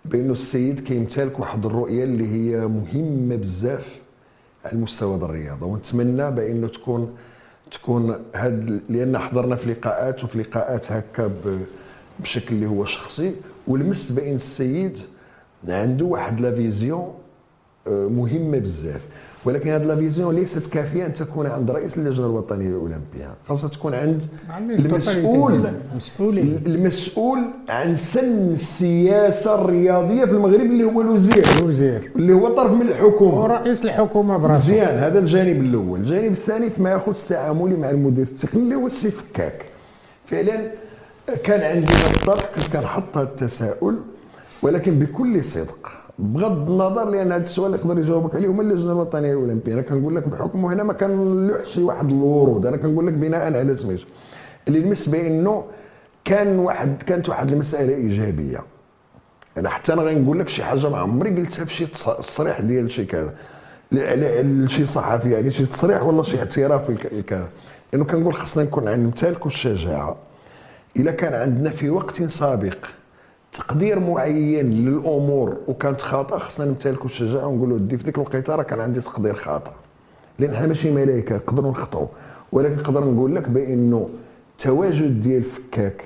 بانه السيد كيمتلك واحد الرؤيه اللي هي مهمه بزاف على المستوى ديال الرياضه، ونتمنى بانه تكون تكون هاد، لان حضرنا في لقاءات وفي لقاءات هكا بشكل اللي هو شخصي، ولمس بان السيد عنده واحد لا فيزيون مهمه بزاف. ولكن هذه لا فيزيون ليست كافيه ان تكون عند رئيس اللجنه الوطنيه الاولمبيه، خاصها تكون عند المسؤول المسؤول عن سن السياسه الرياضيه في المغرب اللي هو الوزير الوزير اللي هو طرف من الحكومه ورئيس الحكومه براسه. مزيان، هذا الجانب الاول. الجانب الثاني فيما يخص التعامل مع المدير التقني اللي هو السي فكاك. فعلا كان عندي بالضبط كنت كنحط هذا التساؤل، ولكن بكل صدق بغض النظر، لان هذا السؤال يقدر يجاوبك عليه هما اللجنه الوطنيه الاولمبيه. انا كنقول لك بحكمه هنا ما كنلوحش شي واحد الورود، انا كنقول لك بناء على سميتو اللي لمس بانه كان واحد كانت واحد المساله ايجابيه. انا حتى انا غنقول لك شي حاجه ما عمري قلتها في شي تصريح ديال شي كذا على شي صحفي، يعني شي تصريح ولا شي اعتراف كذا، انه كنقول خصنا نكون نمتلكوا الشجاعه. الا كان عندنا في وقت سابق تقدير معين للامور وكانت خاطئه، خصنا نمتلكوا الشجاعه ونقولوا دي في ديك الوقيته راه كان عندي تقدير خاطئ، لان حنا ماشي ملائكه نقدروا نخطئوا. ولكن نقدر نقول لك بانه التواجد ديال فكاك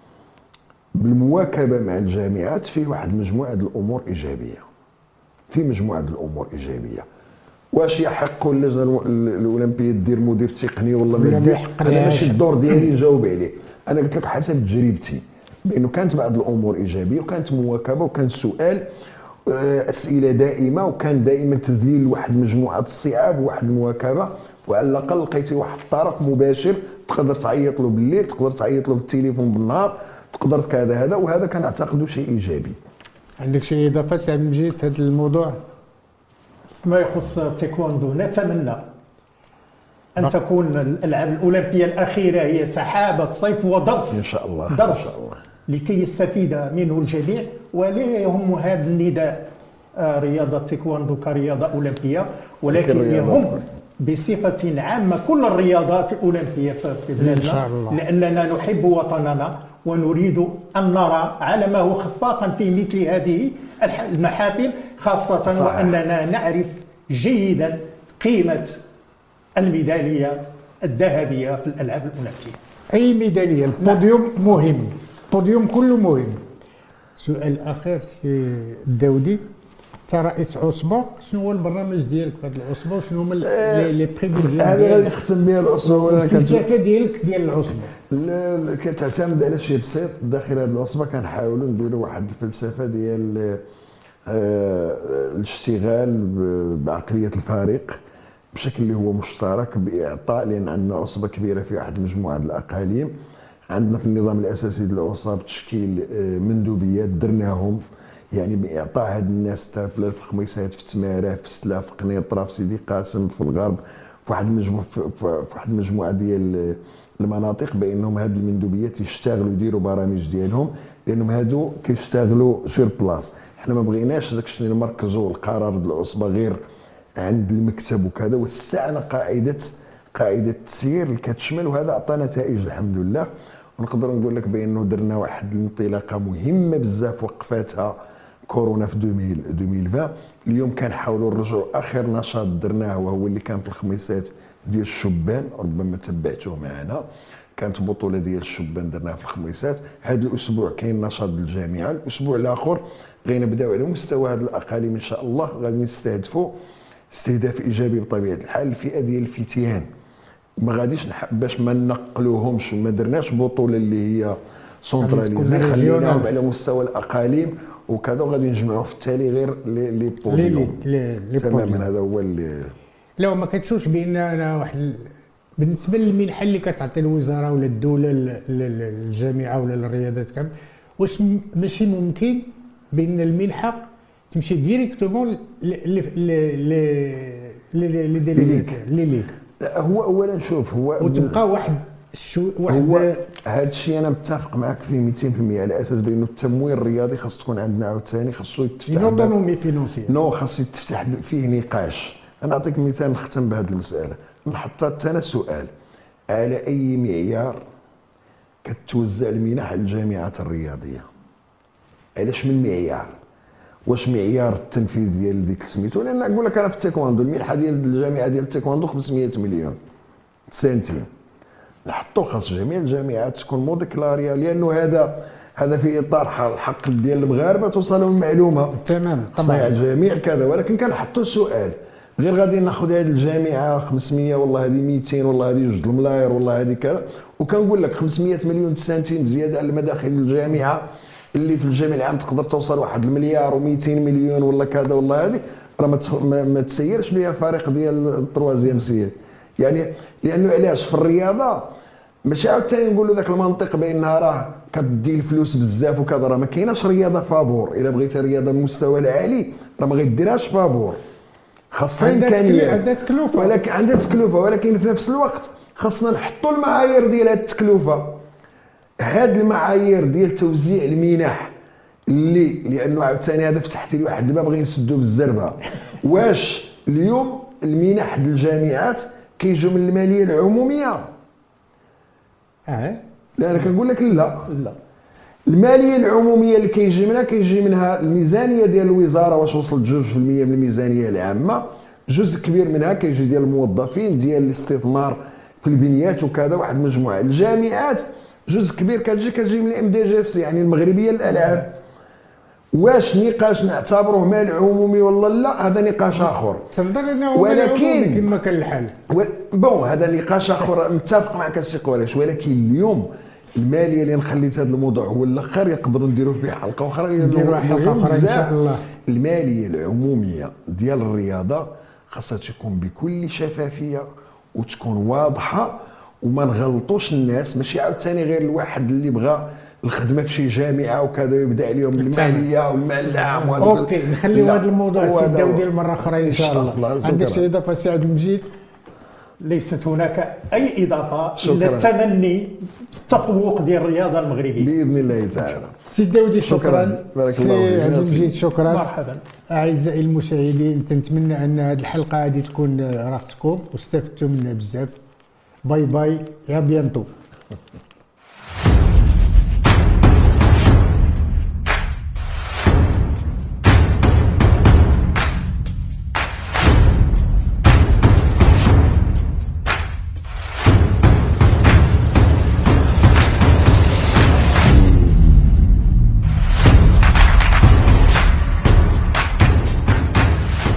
بالمواكبه مع الجامعات فيه واحد مجموعه الامور ايجابيه، في مجموعه الامور ايجابيه. واش يحق اللجنه الاولمبيه دير مدير تقني ولا ما دير؟ انا ماشي الدور ديالي نجاوب عليه، انا قلت لك حسب تجربتي بانه كانت بعض الامور ايجابيه، وكانت مواكبه، وكان سؤال اسئله دائمه، وكان دائما تذليل واحد مجموعه الصعاب وواحد المواكبه، وعلى الاقل لقيتي واحد الطرف مباشر تقدر تعيط له بالليل، تقدر تعيط له بالتليفون بالنهار، تقدر كذا هذا، وهذا كان اعتقد شيء ايجابي. عندك شي اضافه سي عبد المجيد في هذا الموضوع؟ ما يخص التايكوندو نتمنى ان تكون الالعاب الاولمبيه الاخيره هي سحابه صيف ودرس ان شاء الله درس إن شاء الله. لكي يستفيد منه الجميع، ولا يهم هذا النداء رياضه التايكوندو كرياضه اولمبيه، ولكن يهم بصفه عامه كل الرياضات الاولمبيه في بلادنا، لاننا نحب وطننا ونريد ان نرى علمه خفاقا في مثل هذه المحافل، خاصه صحيح. واننا نعرف جيدا قيمه الميداليه الذهبيه في الالعاب الاولمبيه. اي ميداليه، البوديوم مهم، البوديوم كله مهم. سؤال اخر سي الداودي، انت رئيس عصبه، شنو هو البرنامج ديالك في هذه العصبه وشنو هما لي بريفيزيون هذا غادي يخصم بها العصبه ولا الفلسفه ديالك ديال العصبه؟ كتعتمد على شي بسيط داخل هذه العصبه. كنحاولوا نديروا واحد الفلسفه ديال الاشتغال بعقليه الفريق بشكل اللي هو مشترك باعطاء، لان عندنا عصبه كبيره في واحد مجموعه الاقاليم. عندنا في النظام الاساسي ديال العصاب تشكيل مندوبيات درناهم، يعني باعطاء هاد الناس في الخميسات، في تماره، في سلا، في قنيطره، في سيدي قاسم، في الغرب، في واحد المجموعه في واحد المجموعه ديال المناطق، بانهم هاد المندوبيات يشتغلوا يديروا برامج ديالهم، لانهم هادو كيشتغلوا سور بلاص. حنا ما بغيناش داك الشيء نمركزوا القرار ديال العصبه غير عند المكتب وكذا، وسعنا قاعده قاعده التسيير اللي كتشمل، وهذا عطى نتائج الحمد لله. ونقدر نقول لك بانه درنا واحد الانطلاقه مهمه بزاف وقفاتها كورونا في ألفين وعشرين. اليوم كنحاولوا نرجعوا اخر نشاط درناه وهو اللي كان في الخميسات ديال الشبان، ربما تبعتوه معنا، كانت بطوله ديال الشبان درناها في الخميسات. هذا الاسبوع كاين نشاط الجامعه، الاسبوع الاخر غنبداو على مستوى هذه الاقاليم ان شاء الله، غادي نستهدفوا استهداف ايجابي بطبيعه الحال. الفئه ديال الفتيان ما غاديش باش ما نقلوهمش وما درناش بطوله اللي هي سونتراليزي، خليناهم على مستوى الاقاليم وكذا، وغادي نجمعوا في التالي غير لي بوديوم تماما. هذا هو اللي لا ما كتشوفش بان انا واحد بالنسبه للمنحه اللي كتعطي الوزاره ولا الدوله للجامعه ولا للرياضات كامل، واش ماشي ممكن بان المنحه تمشي ديريكتومون لي لي ديليغاسيون لي ليغ؟ هو اولا شوف هو وتبقى واحد شو واحد هو هذا الشيء انا متفق معك فيه مئتين بالمئة، على اساس بانه التمويل الرياضي خاص تكون عندنا عاوتاني، خاصو يتفتح نوتونومي فينونسيير، نو خاص يتفتح فيه نقاش. انا نعطيك مثال نختم بهذه المساله. نحط انا سؤال، على اي معيار كتوزع المنح للجامعات الرياضيه؟ علاش من معيار؟ واش معيار التنفيذ ديال ديك سميتو؟ لان نقول لك انا في التايكواندو المنحه ديال الجامعه ديال التايكواندو خمسمية مليون سنتيم، نحطو خاص جميع الجامعات تكون موديكلاريه، لانه هذا هذا في اطار الحق ديال المغاربه توصلهم المعلومه تمام طبعا الجميع كذا. ولكن كنحطوا سؤال، غير غادي ناخذ هذه الجامعه خمسمية والله هذه مئتين والله هذه جوج الملاير والله هذه كذا، وكنقول لك خمسمية مليون سنتيم زياده على مداخل الجامعه اللي في الجامعه العام تقدر توصل واحد المليار و200 مليون ولا كذا والله هذه راه ما تسيرش بها فريق ديال التروازيام سير. يعني لانه علاش في الرياضه ماشي عاوتاني نقولوا ذاك المنطق بانها راه كتدي الفلوس بزاف وكذا، راه ما كايناش رياضه فابور. الا بغيتي رياضه بالمستوى العالي راه ما غيديرهاش فابور، خاصها امكانيات عندها تكلفه، ولكن عندها تكلفه، ولكن في نفس الوقت خاصنا نحطوا المعايير ديال هذه التكلفه. هاد المعايير ديال توزيع المنح اللي لانه عاوتاني هذا فتحت لي واحد الباب غنسدو بالزربه. واش اليوم المنح ديال الجامعات كيجيو من الماليه العموميه؟ اه لا انا كنقول لك لا لا، الماليه العموميه اللي كيجي منها كيجي منها الميزانيه ديال الوزاره، واش وصلت جوج في المية من الميزانيه العامه، جزء كبير منها كيجي ديال الموظفين ديال الاستثمار في البنيات وكذا، واحد مجموعه. الجامعات جزء كبير كتجي كتجي من الام دي جي اس يعني المغربيه للالعاب. واش نقاش نعتبروه مال عمومي ولا لا هذا نقاش اخر، تنظر انه ولكن كما كان الحال و... بون هذا نقاش اخر متفق معك السي قريش. ولكن اليوم الماليه اللي نخليت هذا الموضوع هو الاخر يقدروا نديروا فيه حلقه اخرى، نديروا حلقه اخرى ان شاء الله. الماليه العموميه ديال الرياضه خاصها تكون بكل شفافيه وتكون واضحه وما نغلطوش الناس. ماشي عاوتاني غير الواحد اللي بغى الخدمه في شي جامعه وكذا يبدا عليهم الماليه والمال العام. اوكي نخليو هذا الموضوع سداو ديال مره اخرى ان شاء الله. عندك شي اضافه سي عبد المجيد؟ ليست هناك اي اضافه الا التمني التفوق ديال الرياضه المغربيه باذن الله تعالى. سي داودي شكرا, شكرا. بارك سي الله فيك. عبد المجيد شكرا. مرحبا. اعزائي المشاهدين تنتمنى ان هذه الحلقه هذه تكون راحتكم واستفدتوا منها بزاف. باي باي يا بيانتو.